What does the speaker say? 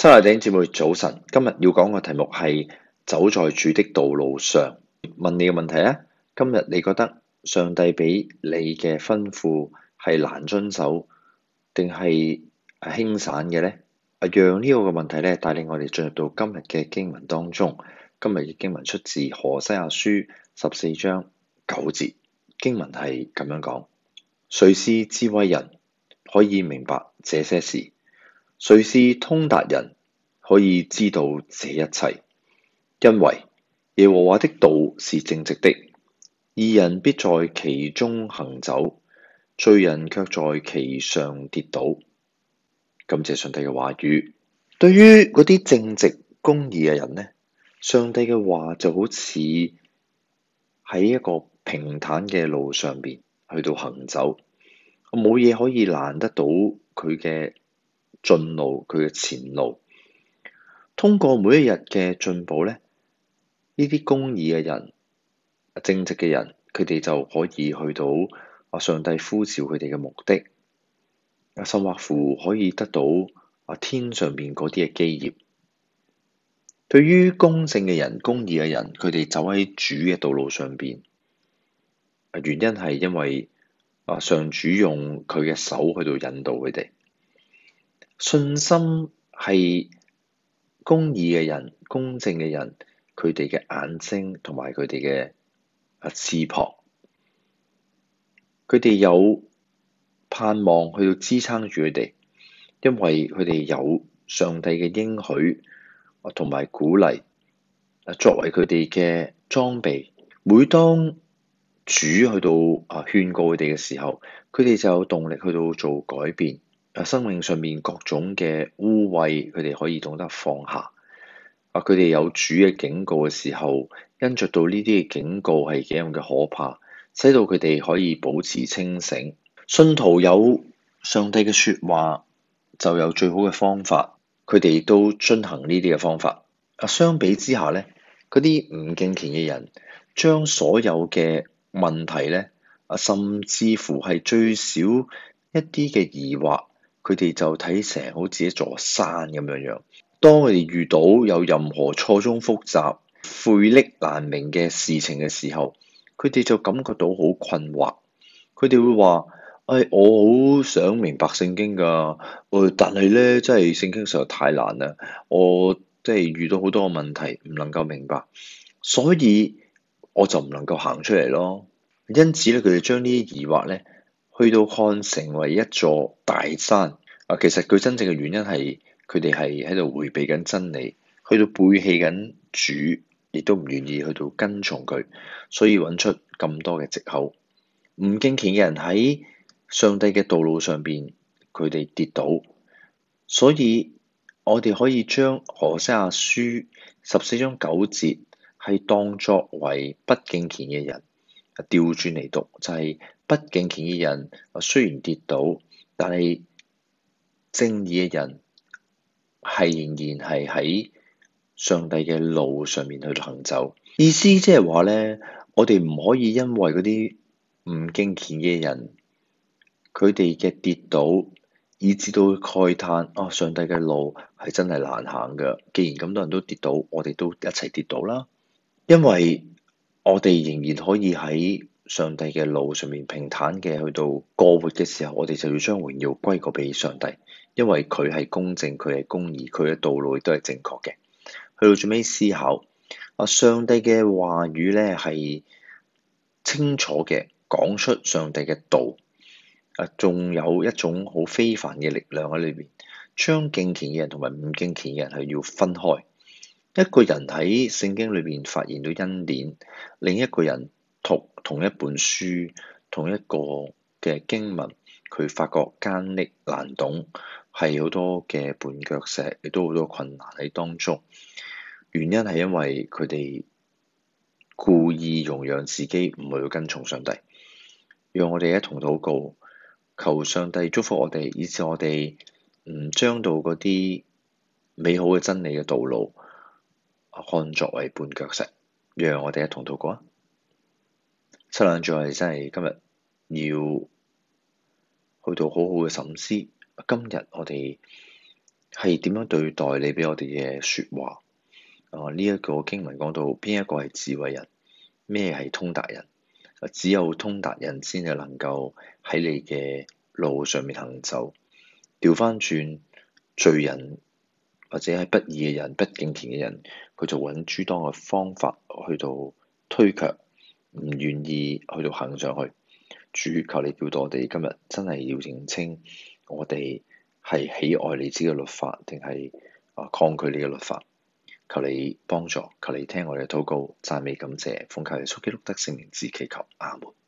親愛的弟兄姊妹早晨，今日要講嘅題目係走在主的道路上。問你嘅問題啊，今日你覺得上帝俾你嘅吩咐係難遵守，定係輕省嘅呢？讓呢個嘅問題咧帶領我哋進入到今日嘅經文當中。今日嘅經文出自何西阿書14章9節，經文係咁樣講：誰是智慧人，可以明白這些事？誰是通達人，可以知道這一切？因為耶和華的道是正直的，義人必在其中行走，罪人卻在其上跌倒。感謝上帝嘅話語。對於嗰啲正直公義嘅人呢，上帝嘅話就好似喺一個平坦嘅路上邊去到行走，冇嘢可以攔得到佢嘅進路，佢嘅前路。通過每一日嘅進步咧，呢啲公義嘅人、正直嘅人，佢哋就可以去到上帝呼召佢哋嘅目的，甚或乎可以得到天上邊嗰啲嘅基業。對於公正嘅人、公義嘅人，佢哋走喺主嘅道路上邊，原因係因為上主用佢嘅手去到引導佢哋。信心係公義嘅人、公正嘅人，佢哋嘅眼睛同埋佢哋嘅翅膀，佢哋有盼望去到支撐住佢哋，因為佢哋有上帝嘅應許同埋鼓勵，作為佢哋嘅裝備。每當主去到勸告佢哋嘅時候，佢哋就有動力去到做改變。生命上面各種嘅污穢，佢哋可以懂得放下。佢哋有主嘅警告嘅時候，因着到呢啲嘅警告係幾樣嘅可怕，使到佢哋可以保持清醒。信徒有上帝嘅說話，就有最好嘅方法，佢哋亦都遵行呢啲嘅方法。相比之下咧，嗰啲唔敬虔嘅人，將所有嘅問題咧，甚至乎係最少一啲嘅疑惑，佢哋就睇成好似一座山咁樣樣。當佢哋遇到有任何錯綜複雜、晦澀難明嘅事情嘅時候，佢哋就感覺到好困惑。佢哋會話：我好想明白聖經㗎，但係咧，真係聖經實在太難啦。我即係遇到好多個問題，唔能夠明白，所以我就唔能夠行出嚟咯。因此咧，佢哋將呢啲疑惑咧，去到看成為一座大山。其實佢真正嘅原因係佢哋係喺度迴避緊真理，去到背棄緊主，亦都唔願意去到跟從佢，所以揾出咁多嘅藉口。唔敬虔嘅人喺上帝嘅道路上邊，佢哋跌倒，所以我哋可以將何西阿書14章9節係當作為不敬虔嘅人調轉嚟讀，就係不敬虔嘅人雖然跌倒，但係正義嘅人係仍然係喺上帝嘅路上面去行走。意思即係話咧，我哋唔可以因為嗰啲唔敬虔嘅人佢哋嘅跌倒，以至到慨嘆上帝嘅路係真係難行㗎。既然咁多人都跌倒，我哋都一齊跌倒啦。因為我哋仍然可以喺上帝嘅路上面平坦嘅去到過活嘅時候，我哋就要將榮耀歸過俾上帝，因為佢係公正，佢係公義，佢嘅道路亦都係正確嘅。去到最尾思考，上帝嘅話語咧係清楚嘅講出上帝嘅道，仲有一種好非凡嘅力量喺裏邊，將敬虔嘅人同埋唔敬虔嘅人係要分開。一個人喺聖經裏邊發現到恩典，另一個人讀同一本書、同一個嘅經文，佢發覺艱澀難懂，係好多嘅絆腳石，亦都好多困難喺當中。原因係因為佢哋故意容讓自己唔去跟從上帝。讓我哋一同禱告，求上帝祝福我哋，以致我哋唔將到嗰啲美好嘅真理嘅道路看作為絆腳石。讓我哋一同禱告啊！七兩最後真係今日要去到好好嘅審思。今日我哋係點樣對待你俾我哋嘅説話。呢一個經文講到邊一個係智慧人，咩係通達人？只有通達人先係能夠喺你嘅路上面行走。調翻轉，罪人或者係不義嘅人、不敬虔嘅人，佢就揾諸多嘅方法去到推卻，唔願意去到行上去。主，求你叫到我哋今日真係要認清，我哋係喜愛你自己嘅律法，定係抗拒你嘅律法？求你幫助，求你聽我哋嘅禱告，讚美感謝，奉靠耶穌基督得勝名字祈求，阿門。